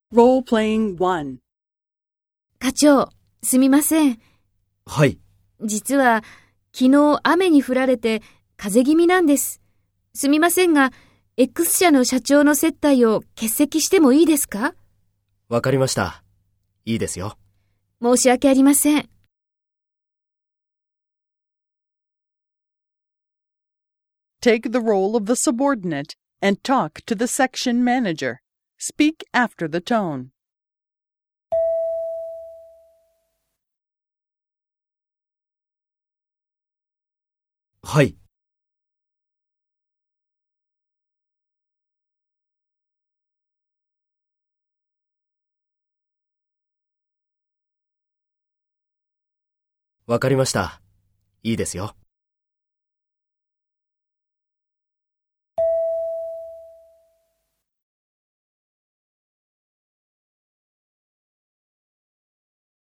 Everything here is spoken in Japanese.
Role-playing 1. 課長、すみません。 はい。 実は、昨日雨に降られて風邪気味なんです。すみませんが、X 社の社長の接待を欠席してもいいですか？ わかりました。いいですよ。 申し訳ありません。 Take the role of the subordinate and talk to the section manager. Speak after the tone. はい。わかりました。いいですよ。